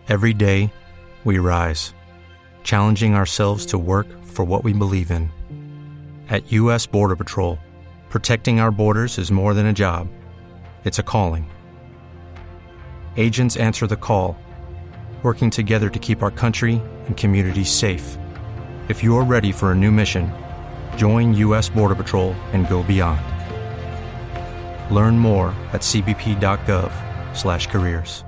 Every day, we rise, challenging ourselves to work for what we believe in. At U.S. Border Patrol, protecting our borders is more than a job. It's a calling. Agents answer the call, working together to keep our country and communities safe. If you are ready for a new mission, join U.S. Border Patrol and go beyond. Learn more at cbp.gov/careers.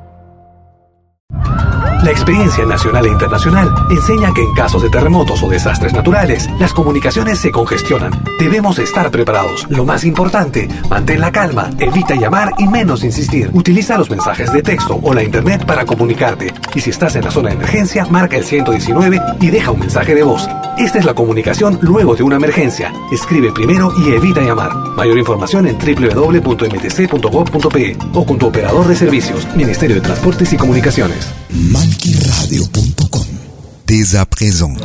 La experiencia nacional e internacional enseña que en casos de terremotos o desastres naturales, las comunicaciones se congestionan. Debemos estar preparados. Lo más importante, mantén la calma, evita llamar y menos insistir. Utiliza los mensajes de texto o la internet para comunicarte. Y si estás en la zona de emergencia, marca el 119 y deja un mensaje de voz. Esta es la comunicación luego de una emergencia. Escribe primero y evita llamar. Mayor información en www.mtc.gov.pe o con tu operador de servicios, Ministerio de Transportes y Comunicaciones. malkiradio.com. Dès à présent.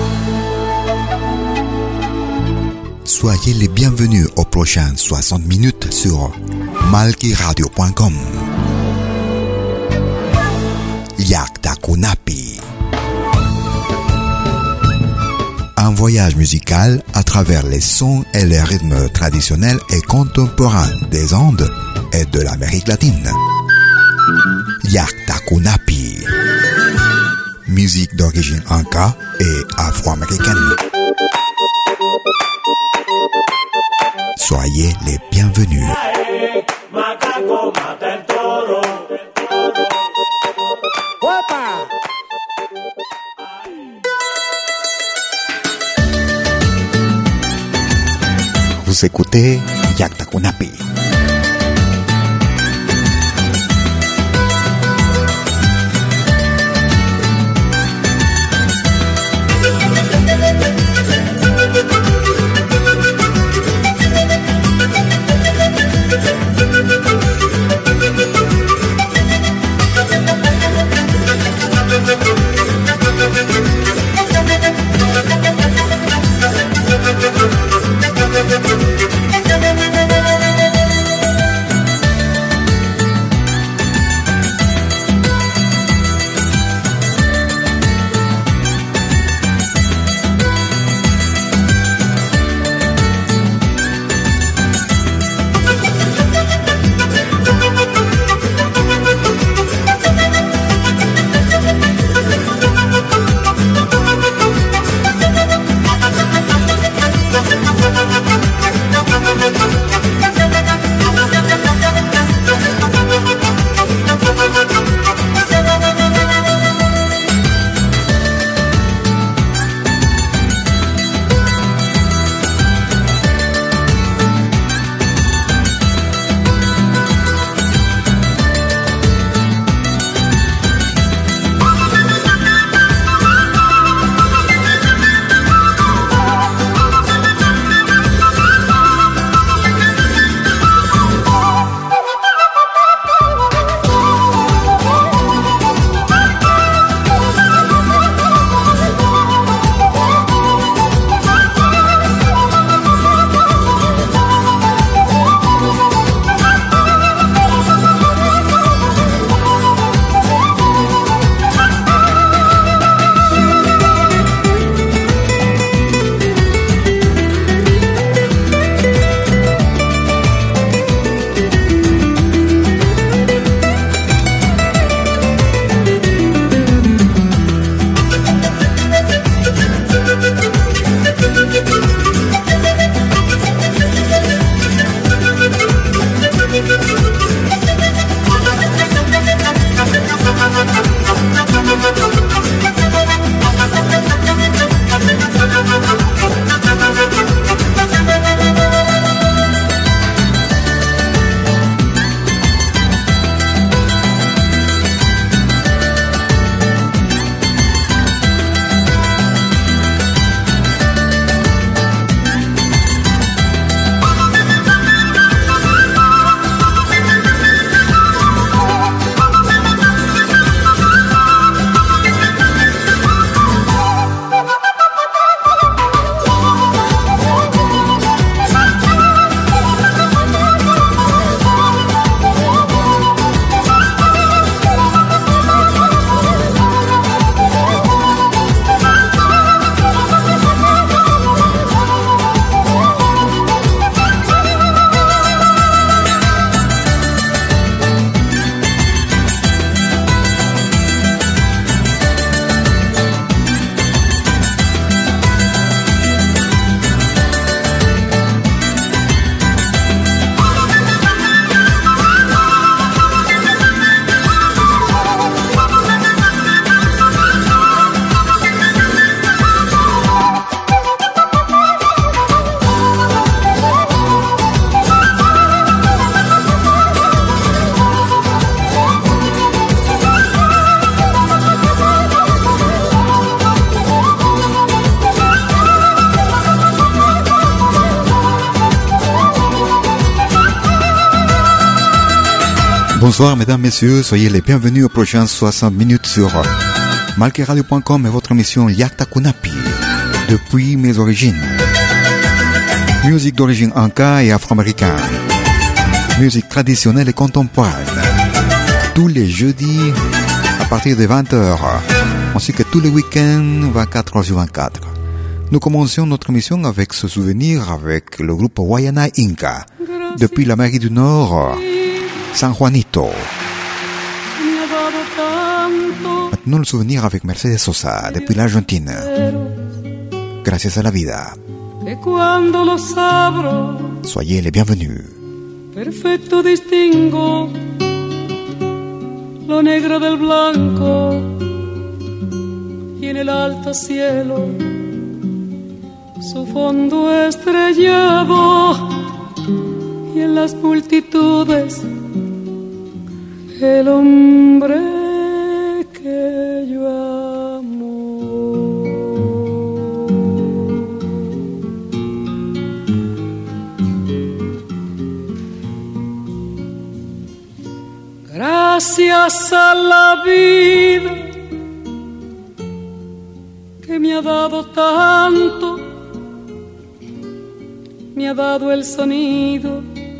Soyez les bienvenus aux prochaines 60 minutes sur malkiradio.com. Yakta Kunapi. Un voyage musical à travers les sons et les rythmes traditionnels et contemporains des Andes et de l'Amérique latine. Yakta Kunapi. Musique d'origine inca et afro-américaine. Soyez les bienvenus. Vous écoutez Yakta Kunapi. Bonsoir mesdames, messieurs, soyez les bienvenus aux prochaines 60 minutes sur malqueradio.com et votre émission Yakta Kunapi, depuis mes origines. Musique d'origine inca et afro-américaine, musique traditionnelle et contemporaine, tous les jeudis à partir de 20h, ainsi que tous les week-ends 24h sur 24. Nous commencions notre émission avec ce souvenir avec le groupe Guayana Inca, depuis l'Amérique du Nord, San Juanito. Maintenant le souvenir avec Mercedes Sosa, depuis l'Argentine. Gracias a la vida. Soyez les bienvenus. Perfecto distingo lo negro del blanco y en el alto cielo su fondo estrellado y en las multitudes el hombre que yo amo. Gracias a la vida que me ha dado tanto, me ha dado el sonido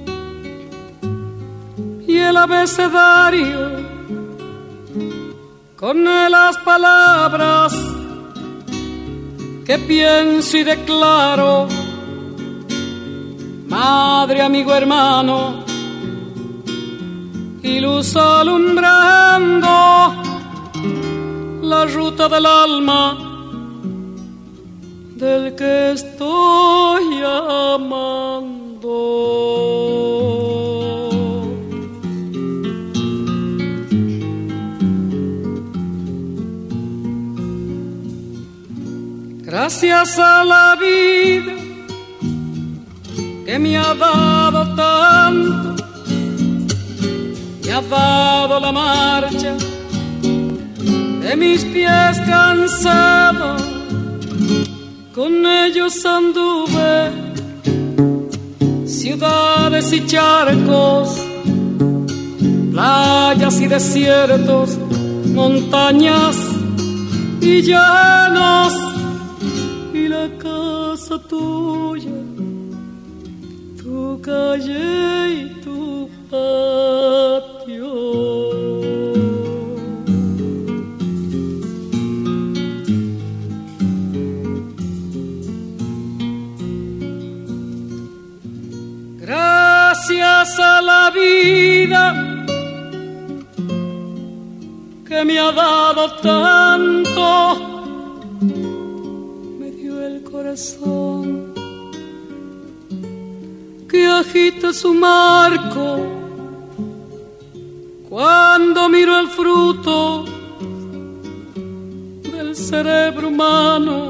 y el abecedario con las palabras que pienso y declaro. Madre, amigo, hermano, y luz alumbrando la ruta del alma del que estoy amando. Gracias a la vida que me ha dado tanto, me ha dado la marcha de mis pies cansados, con ellos anduve ciudades y charcos, playas y desiertos, montañas y llanos, y la casa tuya, tu calle y tu patio. Gracias a la vida que me ha dado tanto, me dio el corazón que agita su marco cuando miro el fruto del cerebro humano,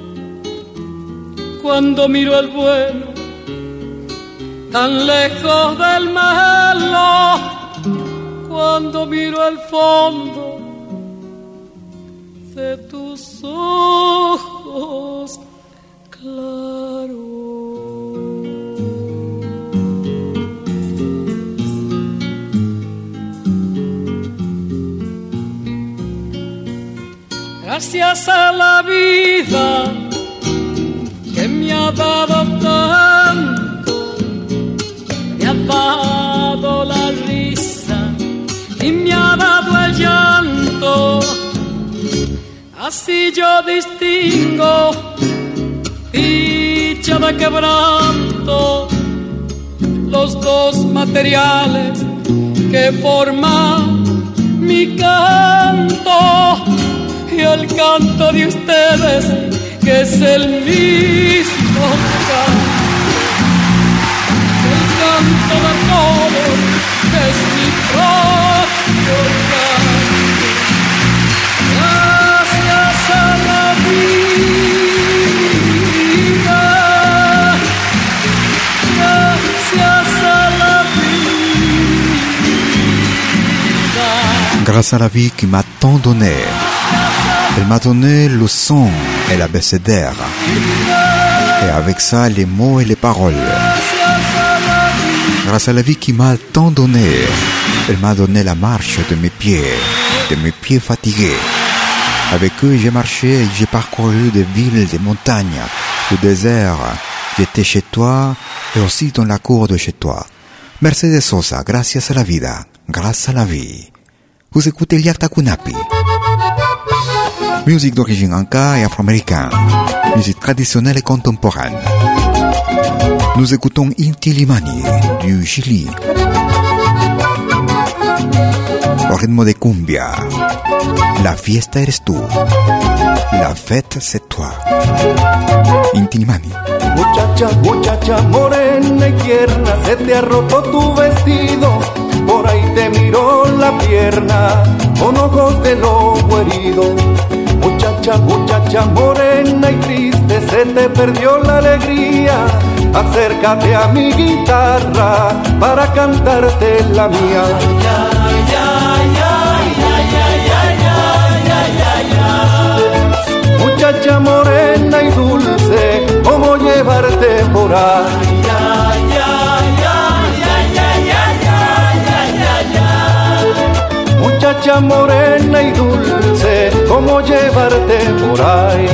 cuando miro el bueno tan lejos del malo, cuando miro el fondo de tus ojos claros. Gracias a la vida que me ha dado tanto, me ha dado la risa y me ha dado el llanto. Así yo distingo dicha de quebranto, los dos materiales que forman mi canto y el canto de ustedes, que es el mismo canto, el canto de todos, que es mi propio canto. Gracias a la vida, gracias a la vida. Grâce à la vie qui m'a tant donné, elle m'a donné le son et l'abécédaire, et avec ça les mots et les paroles. Grâce à la vie qui m'a tant donné, Elle m'a donné la marche de mes pieds fatigués. Avec eux, j'ai marché et j'ai parcouru des villes, des montagnes, le désert. J'étais chez toi et aussi dans la cour de chez toi. Mercedes Sosa, gracias a la vida, grâce à la vie. Vous écoutez Yakta Kunapi. Musique d'origine anka et afro-américaine. Musique traditionnelle et contemporaine. Nous écoutons Inti Illimani du Chili. Au rythme de cumbia. La fiesta eres tú. La fête c'est toi. Inti Illimani. Muchacha, muchacha morena y tierna, se te ha roto tu vestido, por ahí te miró la pierna, con ojos de lobo herido. Muchacha, muchacha morena y triste, se te perdió la alegría, acércate a mi guitarra, para cantarte la mía. Muchacha morena y dulce, ¿cómo llevarte por ahí? Muchacha morena y dulce, ¿cómo llevarte por ahí?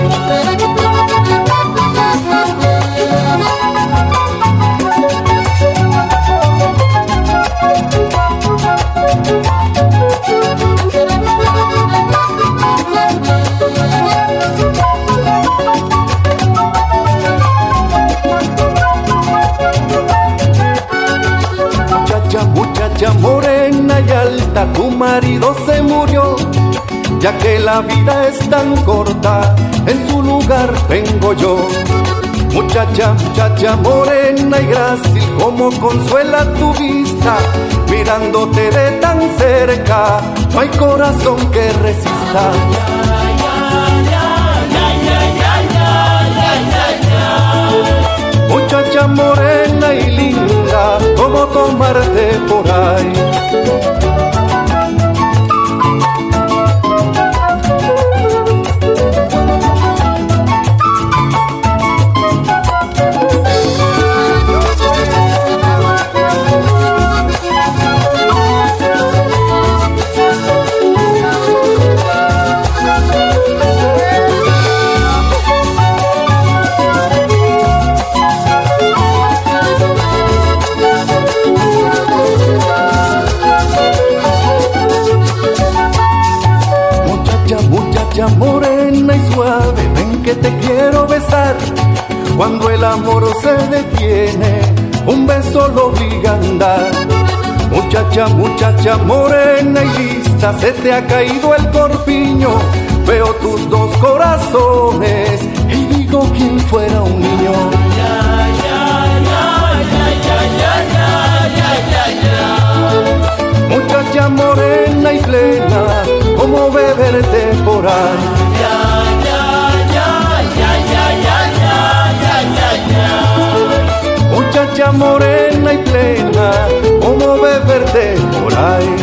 Muchacha morena y alta, tu marido se murió, ya que la vida es tan corta, en su lugar vengo yo. Muchacha, muchacha morena y grácil, como consuela tu vista, mirándote de tan cerca, no hay corazón que resista. Muchacha morena y linda, ¿cómo tomarte por ahí? Muchacha morena y suave, ven que te quiero besar. Cuando el amor se detiene, un beso lo obliga a andar. Muchacha, muchacha morena y lista, se te ha caído el corpiño. Veo tus dos corazones y digo quién fuera un niño. Muchacha morena y plena, ¿cómo beberte por ahí? Muchacha morena y plena, ¿cómo beberte por ahí?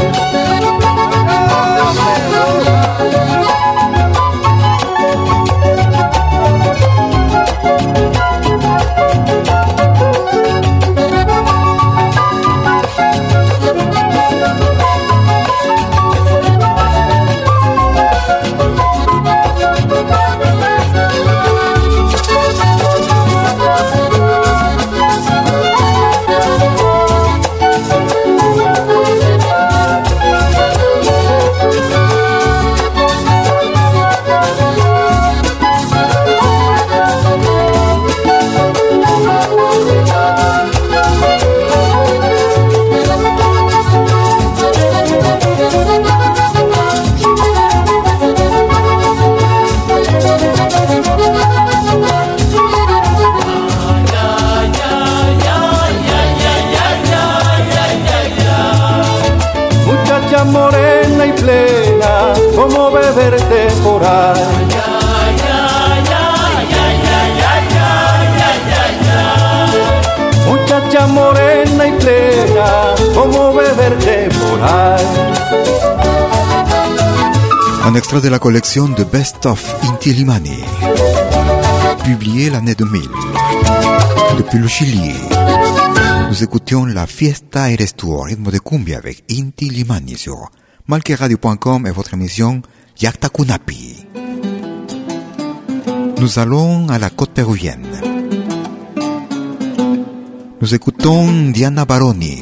Morena y plena, ¿cómo beberte por ahí? Muchacha morena y plena, ¿cómo beberte por ahí? Un extrait de la collection de Best of Inti Illimani, publié l'année 2000, depuis le Chili. Nous écoutions La Fiesta Eres Tu au rythme de cumbia avec Inti Limani sur malqueradio.com et votre émission Yakta Kunapi. Nous allons à la côte péruvienne. Nous écoutons Diana Baroni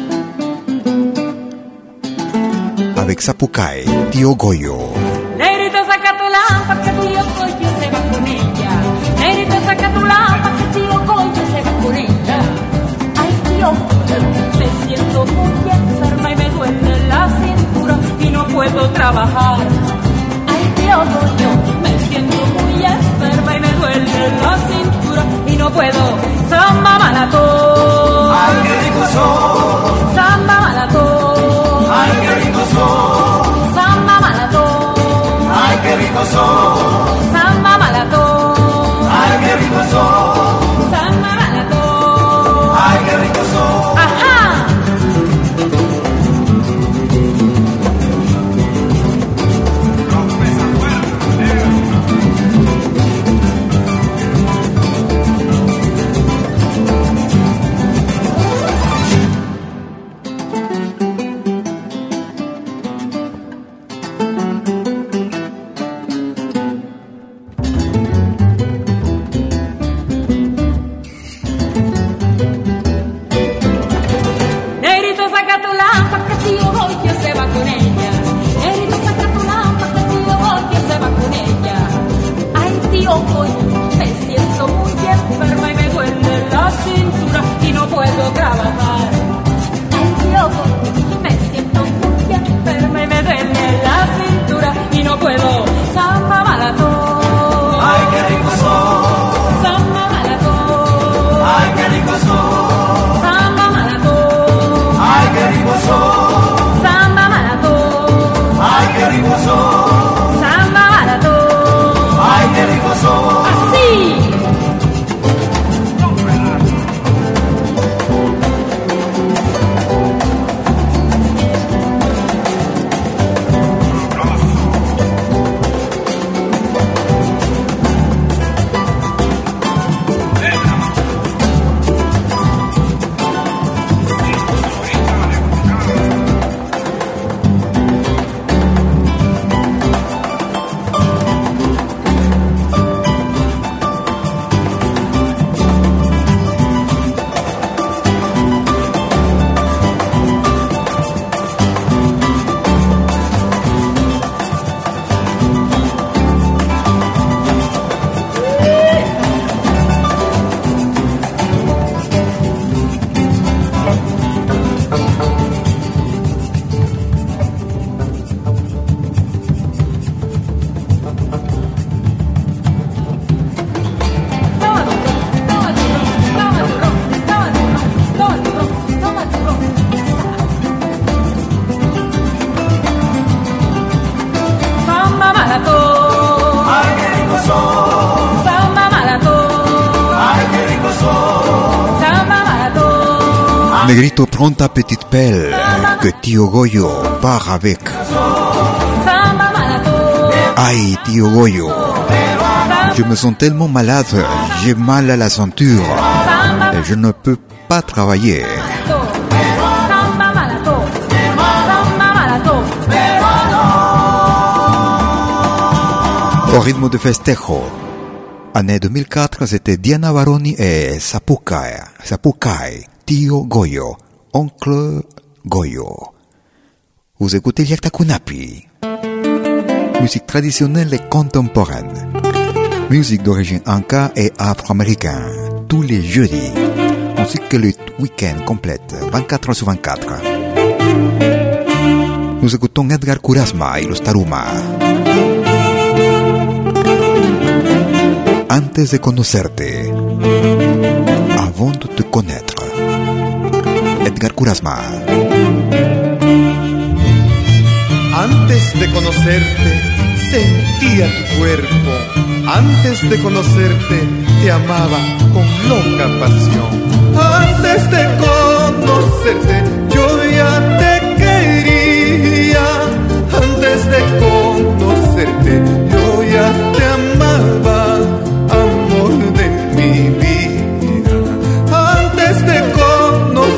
avec Sapucay, Tío Goyo. Negrito, saca tu lámpara que Tío Goyo se va con ella. Negrito, saca tu lámpara que Tío Goyo se va con ella. Ay, Tío Goyo, me siento muy enferma y me duele la cintura y no puedo trabajar. Ay, Tío Goyo, me siento muy enferma y me duele la cintura y no puedo. Samba malatón. Ay, qué rico son. Samba malatón. Ay, qué rico son. Samba malatón. Ay, qué rico son. Samba malatón. Ay, qué rico son. Samba malatón. Ay, qué rico son. Ajá. Negrito, prends ta petite pelle, que Tío Goyo part avec. Aïe, Tío Goyo, je me sens tellement malade, j'ai mal à la ceinture, et je ne peux pas travailler. Au rythme de festejo. Année 2004, c'était Diana Baroni et Sapucay, Tío Goyo, Oncle Goyo. Vous écoutez Yakta Kunapi. Musique traditionnelle et contemporaine. Musique d'origine inca et afro-américaine. Tous les jeudis. Ainsi que le week-end complète, 24 heures sur 24. Nous écoutons Edgar Kurasma y los Taruma. Antes de conocerte, avant de te connaître. Edgar Kurasma. Antes de conocerte, sentía tu cuerpo. Antes de conocerte, te amaba con loca pasión. Antes de conocerte, yo ya te quería. Antes de conocerte, yo ya te amaba, amor de mi vida. Antes de conocerte,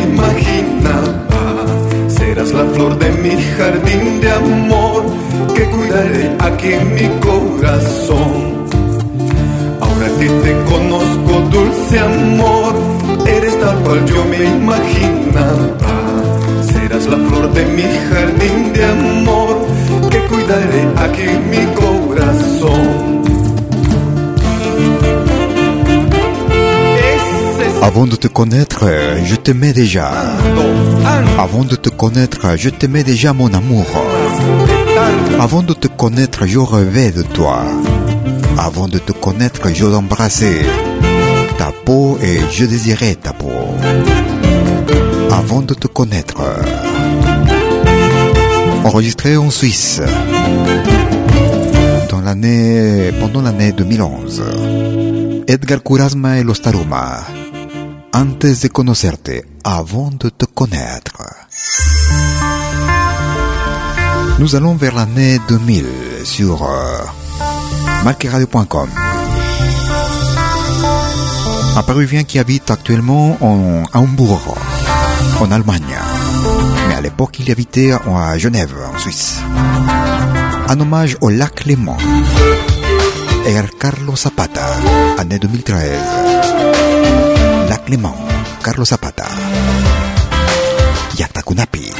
imaginaba. Serás la flor de mi jardín de amor que cuidaré aquí en mi corazón. Ahora que te conozco, dulce amor, eres tal cual yo me imaginaba. Serás la flor de mi jardín de amor que cuidaré aquí en mi corazón. Avant de te connaître, je t'aimais déjà. Avant de te connaître, je t'aimais déjà, mon amour. Avant de te connaître, je rêvais de toi. Avant de te connaître, je l'embrassais ta peau et je désirais ta peau. Avant de te connaître. Enregistré en Suisse pendant l'année 2011. Edgar Kurazma et Los Taruma. Antes de conocerte, avant de te connaître. Nous allons vers l'année 2000 sur malqueradio.com. Un Péruvien qui habite actuellement à Hambourg, en Allemagne. Mais à l'époque, il habitait à Genève, en Suisse. Un hommage au lac Léman. Et à Carlos Zapata, année 2013. Lac Léman, Carlos Zapata. Llacta Kunapi.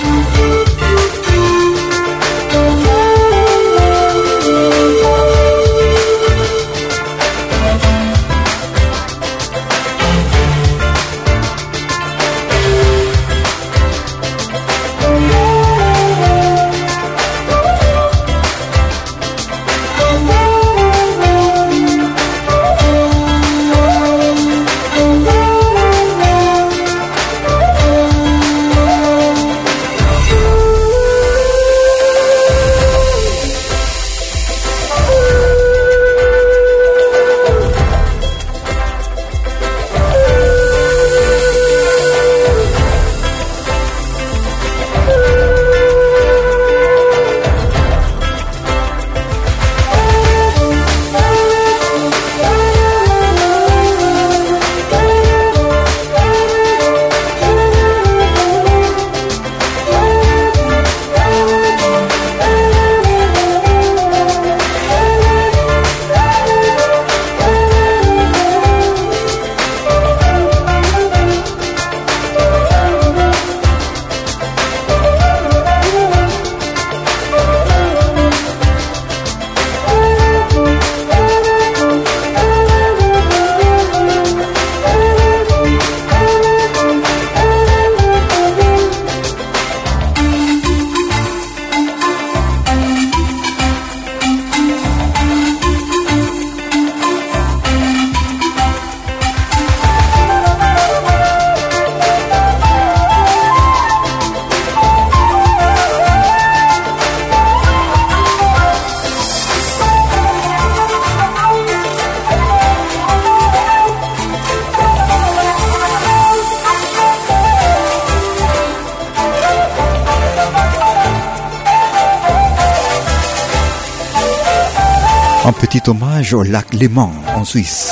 Un petit hommage au lac Léman en Suisse.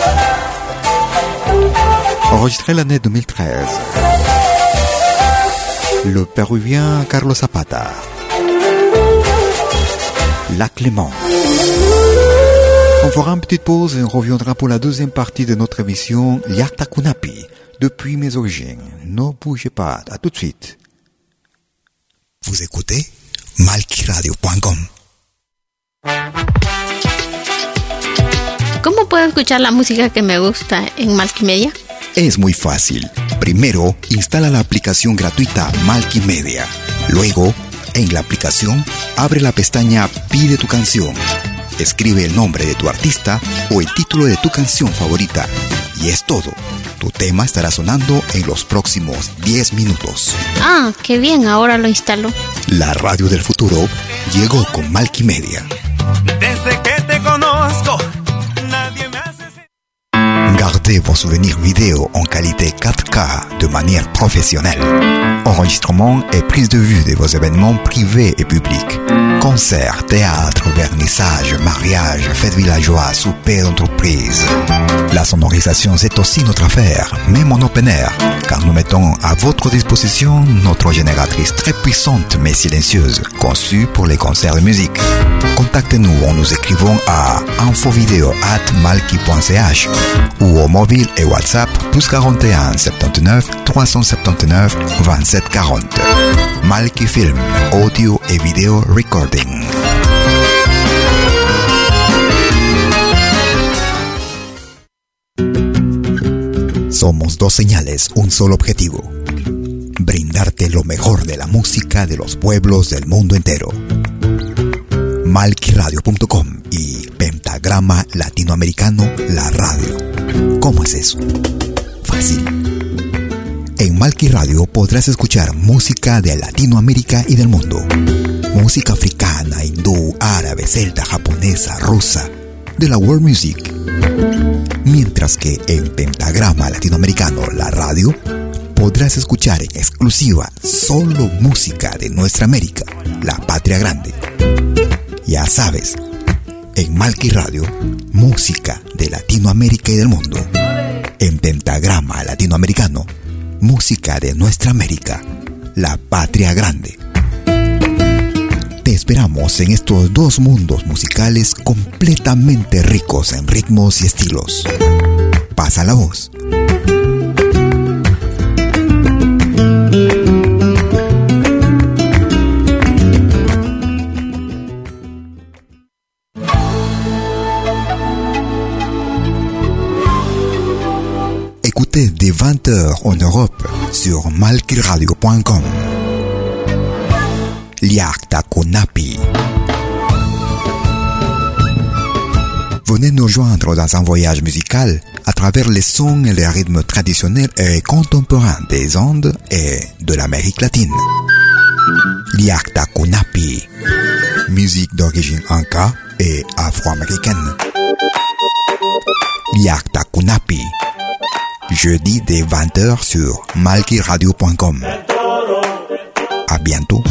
Enregistré l'année 2013. Le Péruvien Carlos Zapata. Lac Léman. On fera une petite pause et on reviendra pour la deuxième partie de notre émission Llacta Kunapi, depuis mes origines. Ne bougez pas, à tout de suite. Vous écoutez malqueradio.com. ¿Cómo puedo escuchar la música que me gusta en Malquimedia? Es muy fácil. Primero, instala la aplicación gratuita Malquimedia. Luego, en la aplicación, abre la pestaña Pide tu canción. Escribe el nombre de tu artista o el título de tu canción favorita. Y es todo. Tu tema estará sonando en los próximos 10 minutos. Ah, qué bien, ahora lo instalo. La radio del futuro llegó con Malquimedia. Desde que te conozco, nadie me hace... Gardez vos souvenirs vidéo en qualité 4K de manière professionnelle. Enregistrement et prise de vue de vos événements privés et publics. Concerts, théâtre, vernissage, mariage, fêtes villageois, souper d'entreprise. La sonorisation, c'est aussi notre affaire, même en open air, car nous mettons à votre disposition notre génératrice très puissante mais silencieuse, conçue pour les concerts de musique. Contactez-nous en nous écrivant à infovideo@malki.ch ou au mobile et WhatsApp +41 79 379 27 40. Malki Film, audio et vidéo recording. Somos dos señales, un solo objetivo. Brindarte lo mejor de la música de los pueblos del mundo entero. Malkiradio.com y Pentagrama Latinoamericano, la radio. ¿Cómo es eso? Fácil. En Malki Radio podrás escuchar música de Latinoamérica y del mundo. Música africana, hindú, árabe, celta, japonesa, rusa, de la world music. Mientras que en Pentagrama Latinoamericano, la radio, podrás escuchar en exclusiva solo música de nuestra América, la patria grande. Ya sabes, en Malki Radio, música de Latinoamérica y del mundo. En Pentagrama Latinoamericano, música de nuestra América, la patria grande. Te esperamos en estos dos mundos musicales completamente ricos en ritmos y estilos. Pasa la voz. Écoutez dès 20h en Europe sur malkiradio.com. Liakta Kunapi. Venez nous joindre dans un voyage musical à travers les sons et les rythmes traditionnels et contemporains des Andes et de l'Amérique latine. Liakta Kunapi. Musique d'origine inca et afro-américaine. Liakta Kunapi. Jeudi dès 20h sur malkiradio.com. À bientôt.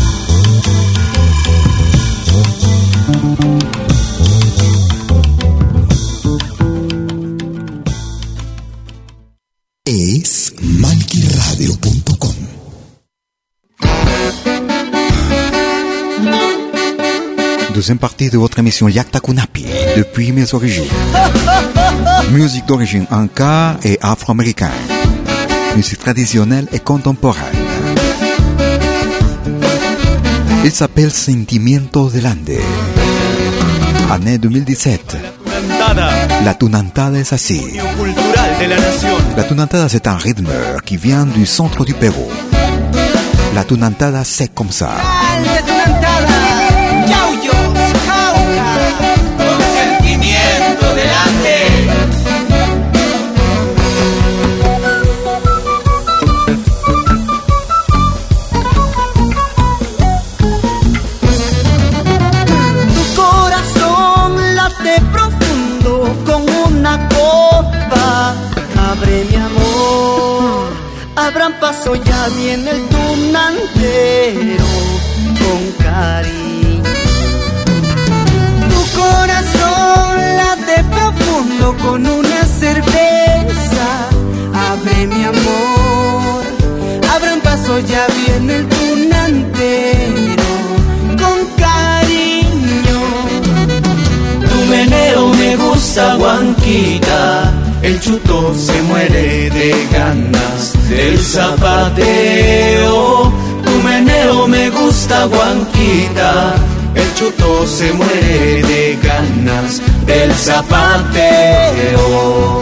Es malkiradio.com. Deuxième partie de votre émission Liakta Kunapi, depuis mes origines. Musique d'origine inca et afro-américaine. Musique traditionnelle et contemporaine. Il s'appelle Sentimientos del Ande. Année 2017. La tunantada es así. La tunantada c'est un rythme qui vient du centre du Pérou. La tunantada c'est comme ça. Abran paso, ya viene el tunantero con cariño. Tu corazón late profundo con una cerveza. Abre mi amor, abran paso, ya viene el tunantero con cariño. Tu meneo me gusta, Guanquita. El chuto se muere de ganas del zapateo. Tu meneo me gusta, Guanquita. El chuto se muere de ganas del zapateo.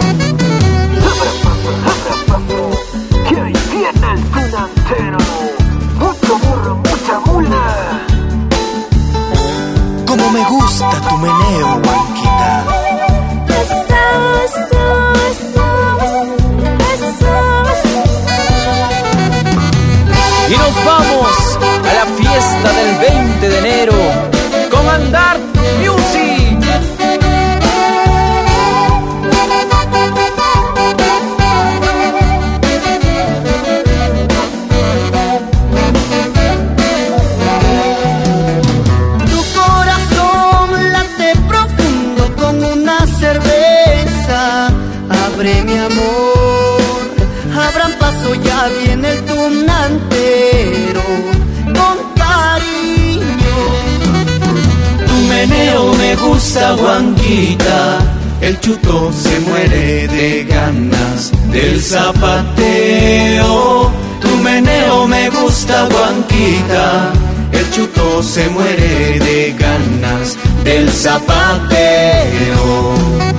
Que ahí viene el tunantero. Mucho burro, mucha mula. Como me gusta tu meneo, Guanquita. Y nos vamos a la fiesta del 20 de enero con Andar Music. Tu viene el tunantero con cariño. Tu meneo me gusta, Juanquita, el chuto se muere de ganas del zapateo. Tu meneo me gusta, Juanquita, el chuto se muere de ganas del zapateo.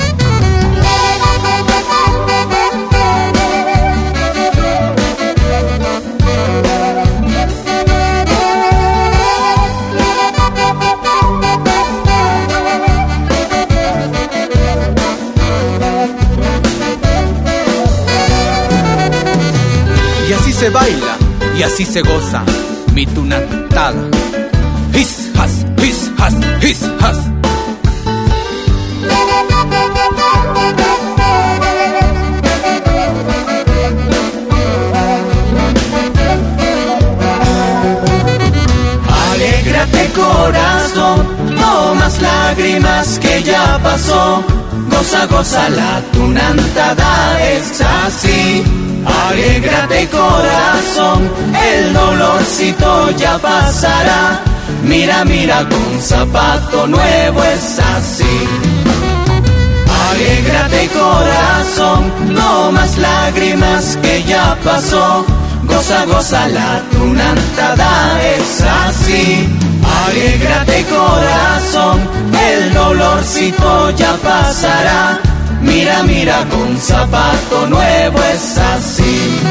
Y así se baila, y así se goza, mi tunantada. His, has, his, has, his, has. Alégrate corazón, no más lágrimas que ya pasó. Goza, goza, la tunantada es así. Alégrate corazón, el dolorcito ya pasará. Mira, mira, con zapato nuevo es así. Alégrate corazón, no más lágrimas que ya pasó. Goza, goza, la tunantada es así. Alégrate corazón, el dolorcito ya pasará. Mira, mira, con zapato nuevo es así.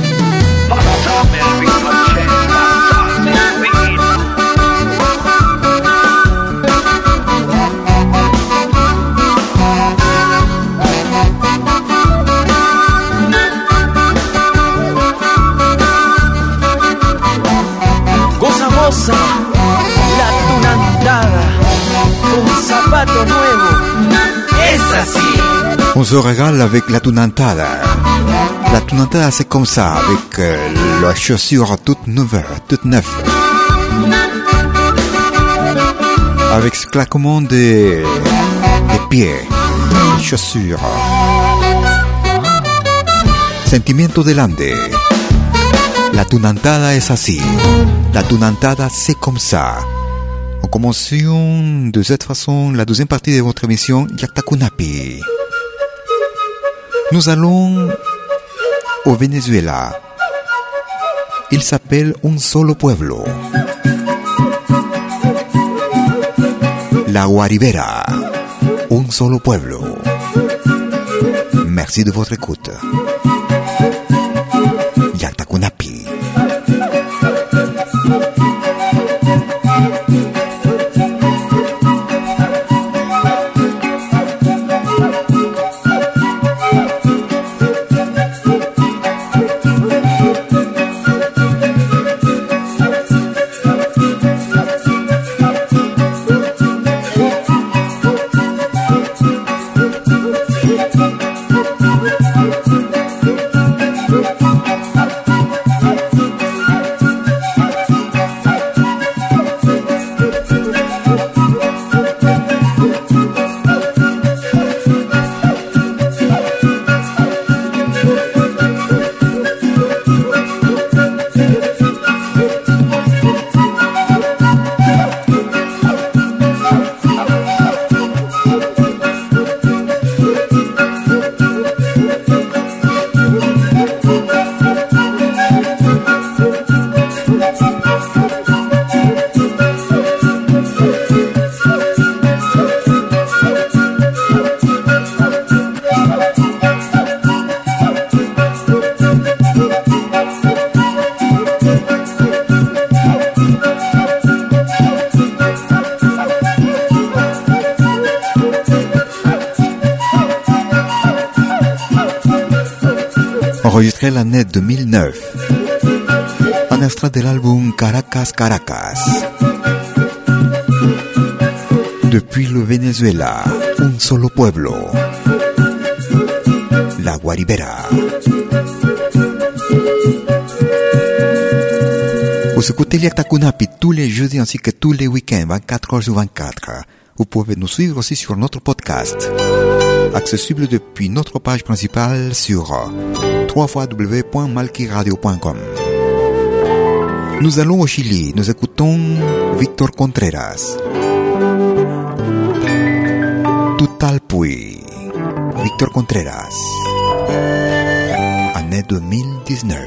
Goza, goza, la tunantada, con zapato nuevo, es así. On se régale avec la tunantada. La tunantada, c'est comme ça, avec la chaussure toute neuve, avec ce claquement des pieds, des chaussures. Sentimiento del Ande. La tunantada es así. La tunantada, c'est comme ça. En commençant de cette façon la deuxième partie de votre émission Yakta Kunapi. Nous allons au Venezuela. Il s'appelle Un Solo Pueblo. La Guaribera. Un Solo Pueblo. Merci de votre écoute. Yakta Kunapi. Enregistré l'année 2009. Un extrait de l'album Caracas Caracas. Depuis le Venezuela, un solo pueblo. La Guaribera. Vous écoutez Yakta Kunapi tous les jeudis ainsi que tous les week-ends, 24 heures sur 24. Vous pouvez nous suivre aussi sur notre podcast, accessible depuis notre page principale sur www.malquiradio.com. Nous allons au Chili, nous écoutons Víctor Contreras. Tutalpuy, Víctor Contreras, année 2019.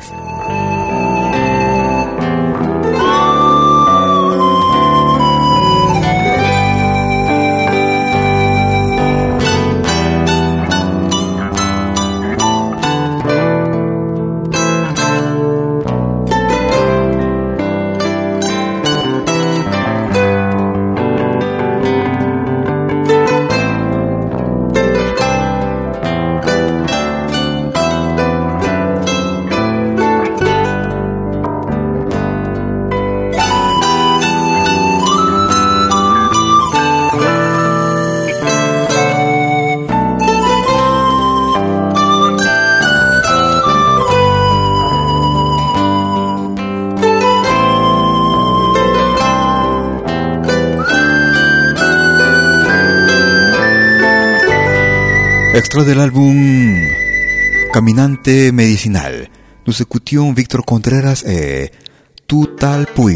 Extra del álbum Caminante Medicinal, nous écoutions Víctor Contreras et Tutalpuy.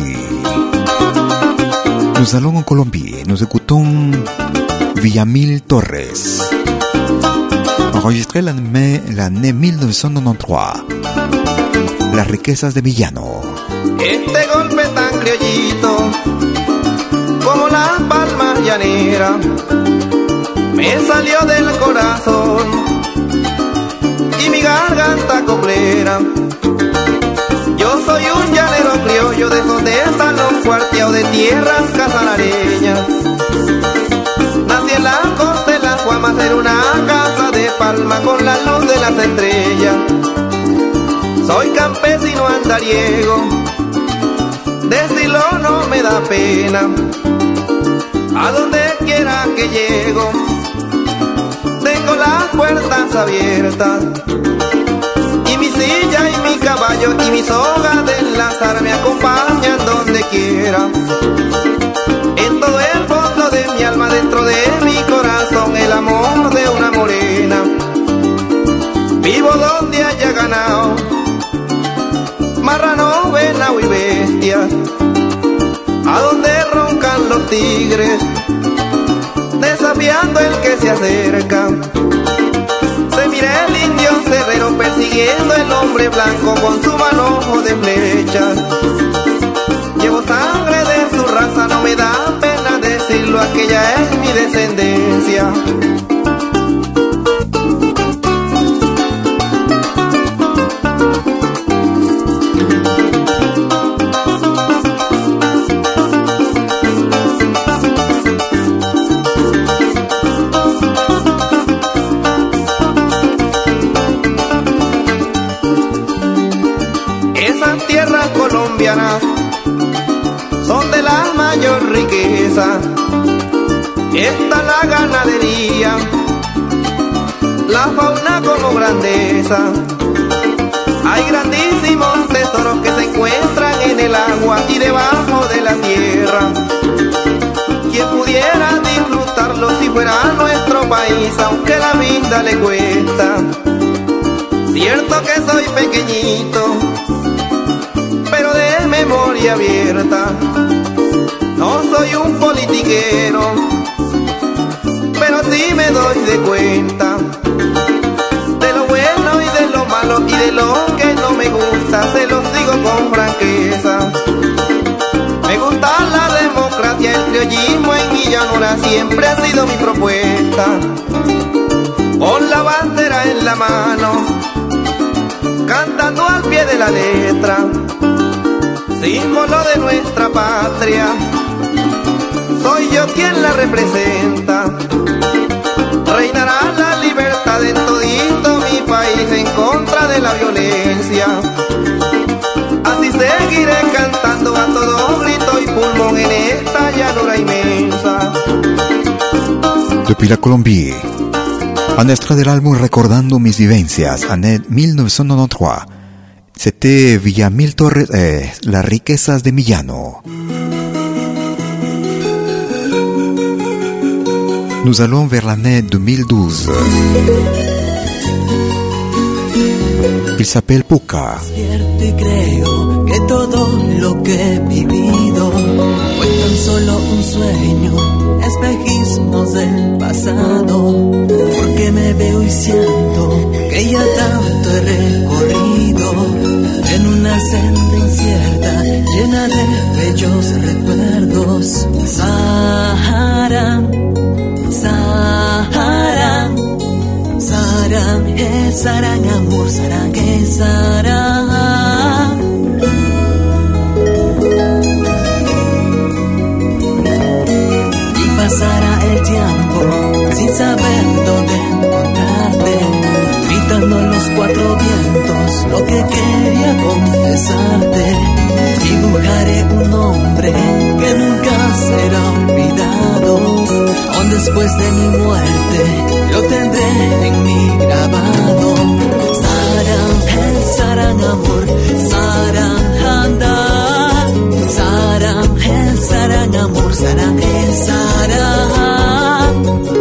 Nous allons en Colombie, nous écoutons Villamil Torres, enregistré l'année 1993, Las riquezas de Villano. Este golpe tan criollito como las palmas llaneras me salió del corazón y mi garganta coplera. Yo soy un llanero criollo de esos de están los cuarteados de tierras casanareñas. Nací en la costa de las Guamas en una casa de palma con la luz de las estrellas. Soy campesino andariego, decirlo no me da pena. A donde quiera que llego tengo las puertas abiertas y mi silla y mi caballo y mi soga de enlazar me acompañan donde quiera. En todo el fondo de mi alma, dentro de mi corazón, el amor de una morena. Vivo donde haya ganado, marrano, venado y bestia, a donde roncan los tigres, desafiando el que se acerca. Se mira el indio cerrero persiguiendo el hombre blanco con su manojo de flechas. Llevo sangre de su raza, no me da pena decirlo, aquella es mi descendencia. Son de la mayor riqueza, está la ganadería, la fauna como grandeza. Hay grandísimos tesoros que se encuentran en el agua y debajo de la tierra. Quien pudiera disfrutarlo si fuera nuestro país, aunque la vida le cuesta. Cierto que soy pequeñito, pero de memoria abierta. No soy un politiquero, pero sí me doy de cuenta de lo bueno y de lo malo y de lo que no me gusta, se los digo con franqueza. Me gusta la democracia, el criollismo en mi llanura siempre ha sido mi propuesta. Con la bandera en la mano, cantando al pie de la letra, símbolo de nuestra patria, soy yo quien la representa. Reinará la libertad en todito mi país en contra de la violencia. Así seguiré cantando a todo grito y pulmón en esta llanura inmensa. Depuis la Colombie, un extrait de l'album Recordando mis vivencias, année 1993. C'était Villamil Torres, Las riquezas de Villano. Nous allons vers l'année 2012. Il s'appelle Puka. Despierto y creo que todo lo que he vivido fue tan solo un sueño, espejismos del pasado. Porque me veo y siento que ya tanto he recorrido en una senda incierta, llena de bellos recuerdos. Sahara, Sahara, sarang, sarang amor, sarang, sarang. Y pasará el tiempo sin saber dónde encontrarte, gritando en los cuatro vientos lo que quería confesarte. Dibujaré un nombre que nunca será olvidado, aún después de mi muerte lo tendré en mi grabado. Sarang, sarang amor, sarang handa, sarang, sarang amor, sarang, sarang.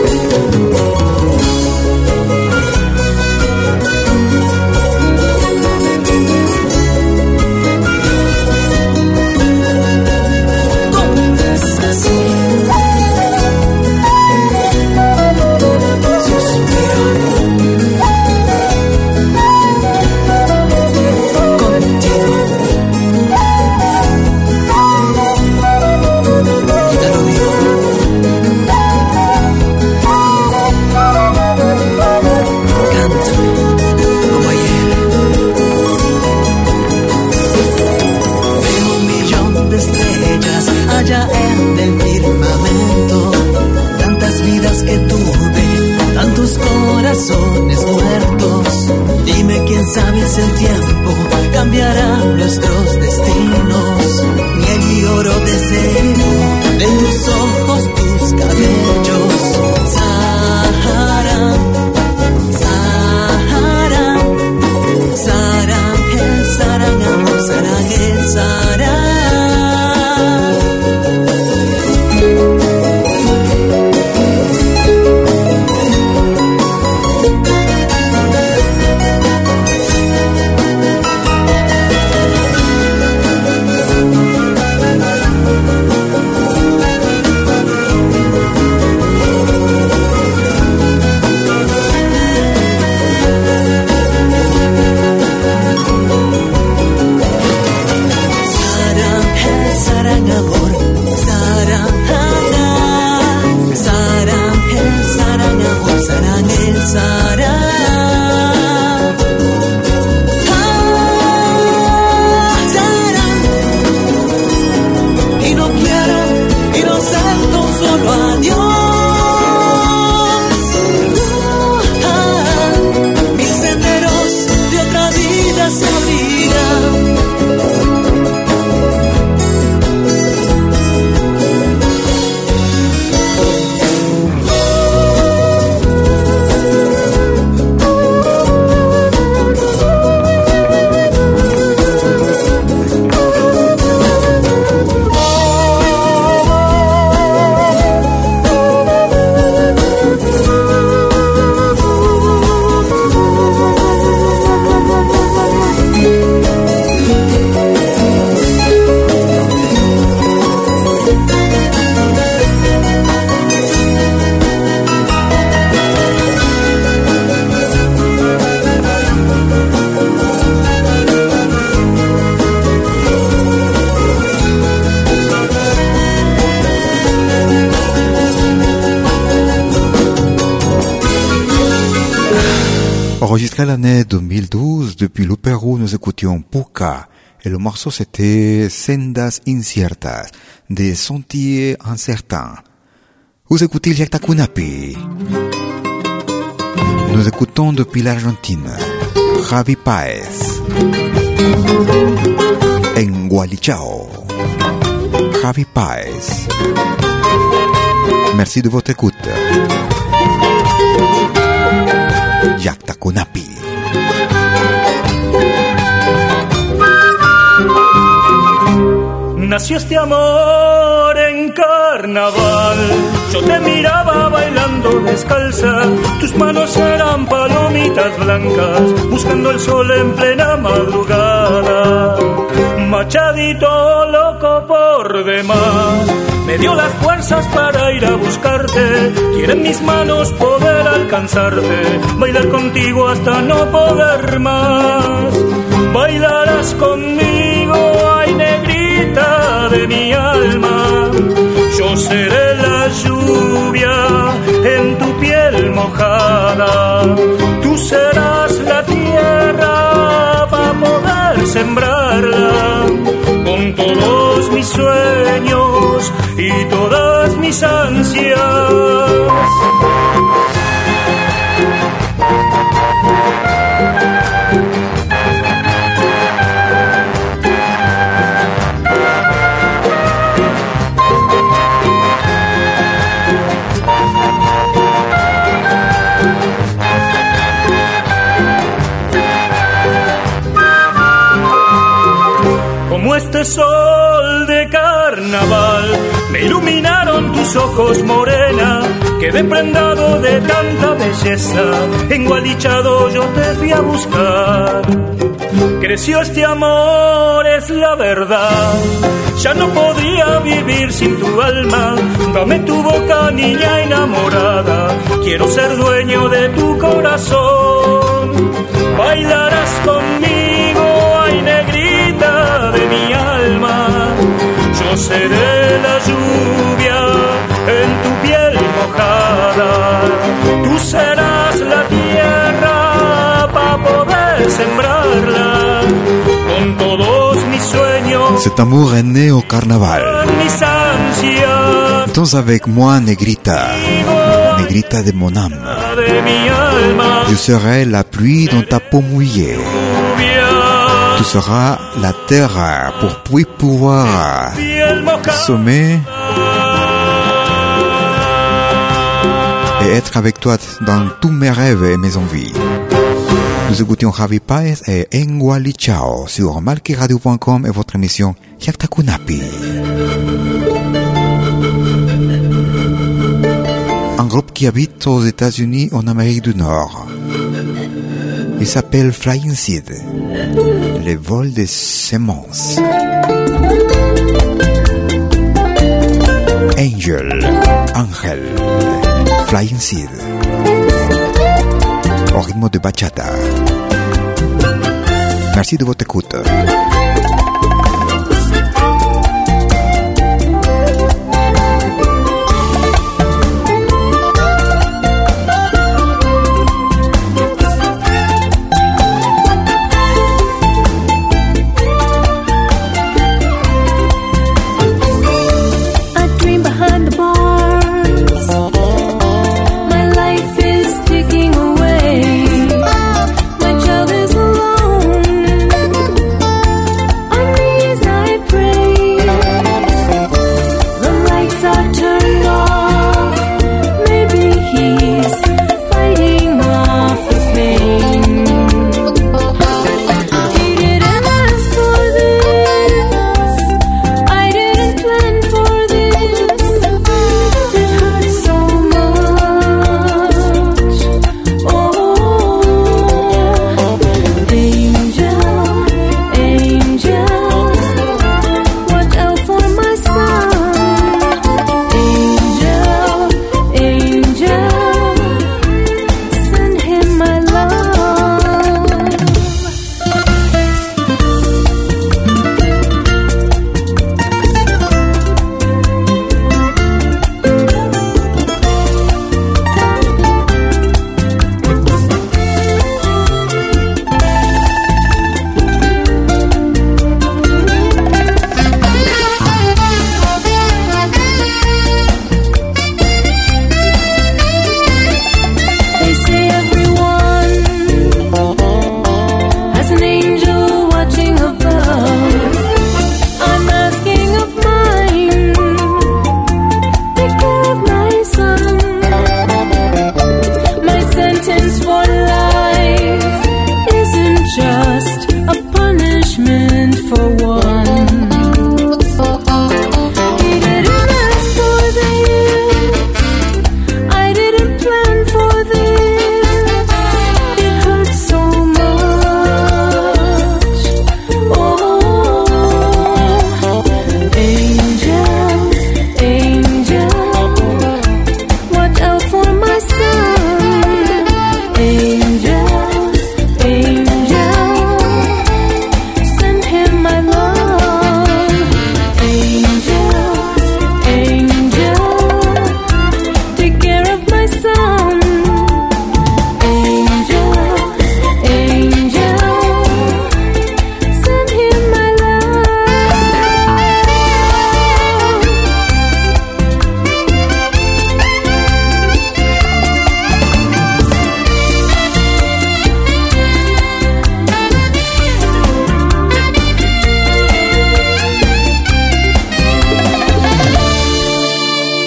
Corazones muertos, dime quién sabe si el tiempo cambiará nuestros destinos. Miel y oro deseo de tus ojos, tus cabellos. Sahara, Sahara, Sarang, sarang amor, sarang, sarang. Enregistré l'année 2012, depuis le Pérou, nous écoutions Puka. Et le morceau c'était Sendas Inciertas, des sentiers incertains. Vous écoutez Yakta Kunapi. Nous écoutons depuis l'Argentine, Javi Paez. En Gualichao, Javi Paez. Merci de votre écoute. Yakta Kunapi. Nació este amor en carne carnaval. Yo te miraba bailando descalza, tus manos eran palomitas blancas, buscando el sol en plena madrugada. Machadito loco por demás, me dio las fuerzas para ir a buscarte. Quieren mis manos poder alcanzarte, bailar contigo hasta no poder más. Bailarás conmigo, ay negrita de mi alma. Yo seré la lluvia en tu piel mojada. Tú serás la tierra para poder sembrarla, con todos mis sueños y todas mis ansias. Como este sol de carnaval, me iluminaron tus ojos, morena. Quedé prendado de tanta belleza, engualichado yo te fui a buscar. Creció este amor, es la verdad. Ya no podría vivir sin tu alma. Dame tu boca, niña enamorada. Quiero ser dueño de tu corazón. Bailarás conmigo, ay negrita de mi alma. Yo seré la lluvia en tu piel mojada. Tú serás la tierra para poder sembrarla, con todos mis sueños. Cet amour est né au carnaval. Danse avec moi, Negrita, Negrita de mon âme. Je serai la pluie dans ta peau mouillée. Tu seras la terre pour puis pouvoir semer et être avec toi dans tous mes rêves et mes envies. Nous écoutions Javi Paez et Engualichao sur malquiradio.com et votre émission Yaktakunapi. Un groupe qui habite aux États-Unis en Amérique du Nord. Il s'appelle Flying Seed, les vols des semences. Angel, Flying Seed, au rythme de bachata. Merci de votre écoute.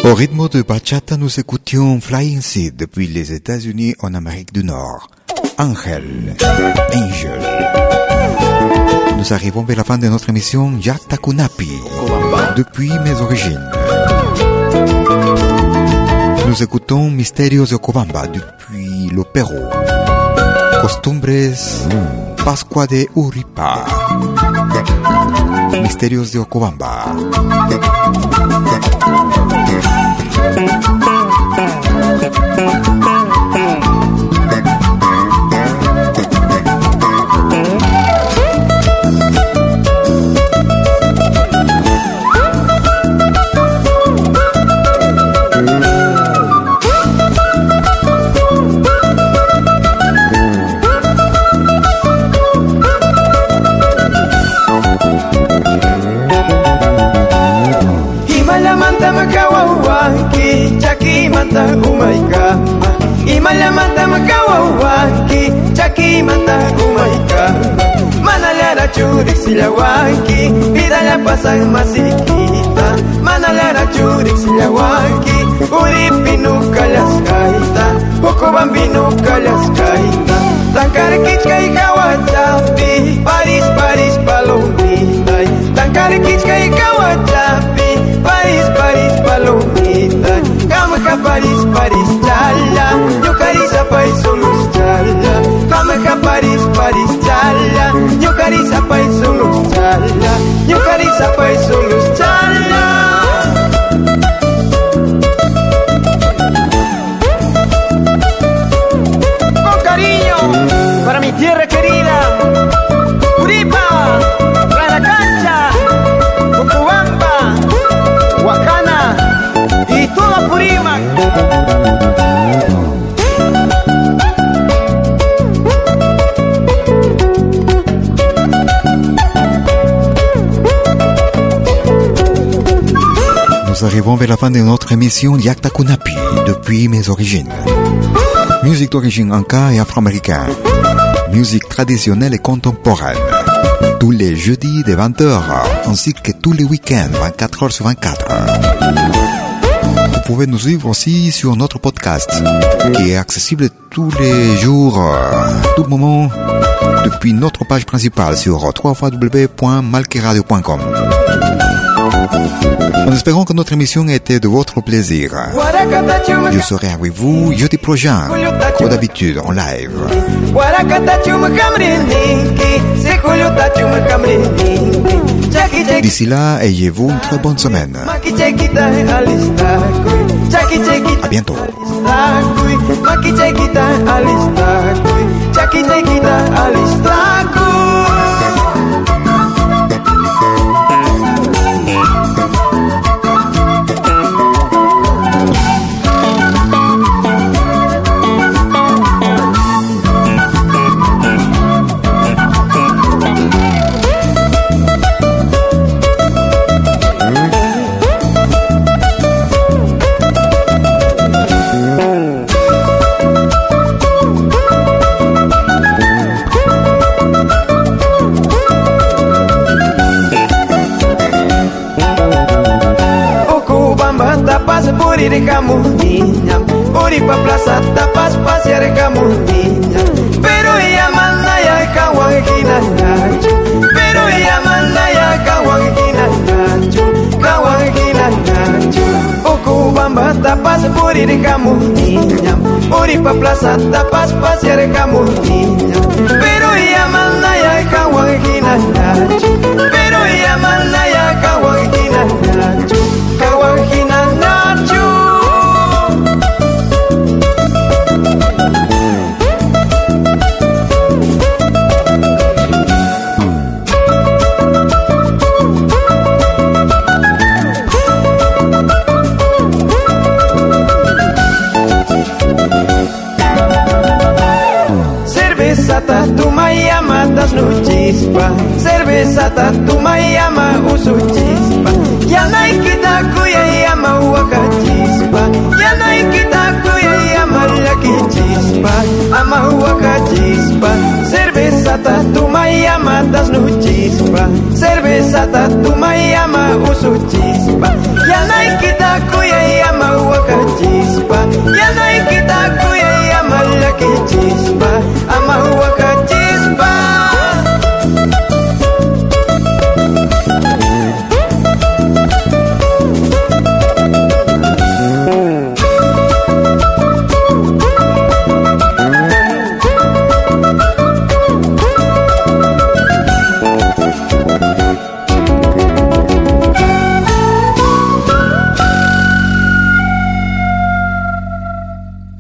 Au rythme de bachata, nous écoutions Flying Seed depuis les États-Unis en Amérique du Nord. Angel. Nous arrivons vers la fin de notre émission Yakta Kunapi, depuis mes origines. Nous écoutons Misterios de Cobamba depuis le Pérou. Costumbres Pascua de Uripa. Misterios de Cobamba. Chaki mata umaika, imala mata makawawaki, chaki mata umaika. Manalara churik silawaki, vida la pasa masiquita. Manalara churik silawaki, uripinuka las kaita, poco bambinuka las kaita. Tankarkichka y kawachapi, Paris, Paris, palomita. Tankarkichka y kawachapi, Paris, Paris, palomita. Kamaka Paris, Paris, chala. Yo carisa paisolus chala. Kamaka Paris, Paris, chala. Yo carisa paisolus chala. Yo carisa paisolus chala. Con cariño para mi tierra querida, Uripa, Ranacancha, Cocobamba, Huacana y toda Purímac. Nous arrivons vers la fin de notre émission Yakta Kunapi, depuis mes origines. Musique d'origine anka et afro-américaine. Musique traditionnelle et contemporaine. Tous les jeudis de 20h, ainsi que tous les week-ends, 24h sur 24. Vous pouvez nous suivre aussi sur notre podcast, qui est accessible tous les jours, tout moment, depuis notre page principale sur www.malkiradio.com. En espérant que notre émission était de votre plaisir. Je serai avec vous jeudi prochain, comme d'habitude, en live. D'ici là, ayez-vous une très bonne semaine. À bientôt. Uri camuniña, Uri pa plaza tapas pasear camuniña. Pero ella manda ya caguanquina nacho, pero ella manda ya caguanquina nacho, caguanquina nacho. Ocubamba tapas Uri camuniña, Uri pa plaza tapas pasear camuniña. Pero ella manda ya caguanquina nacho, pero ella manda ya caguanquina nacho, caguanquina nacho. Tu mayama das no chispa, cerveza tu mayama usu chispa. Ya nai kita kuya yama waka chispa, ya nai kita kuya yama laki chispa, ama waka chispa. Cerveza tu mayama das no chispa, cerveza tu mayama usu chispa. Ya nai kita kuya yama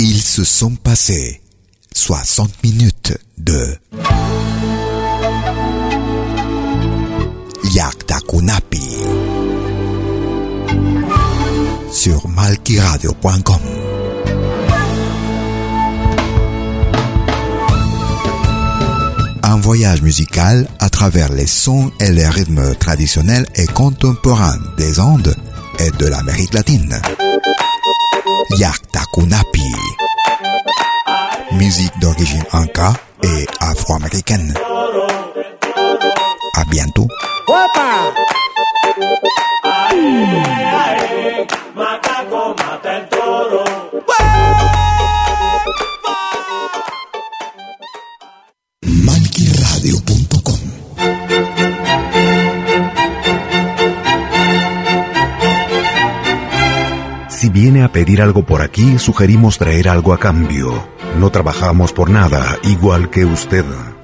Ils se sont passés 60 minutes de Yakta Kunapi sur malquiradio.com. Un voyage musical à travers les sons et les rythmes traditionnels et contemporains des Andes et de l'Amérique latine. Yakta Kunapi. Musique d'origine inca et afro-américaine. À bientôt. Macaco mata el toro. malquiradio.com. Si viene a pedir algo por aquí, sugerimos traer algo a cambio. No trabajamos por nada, igual que usted.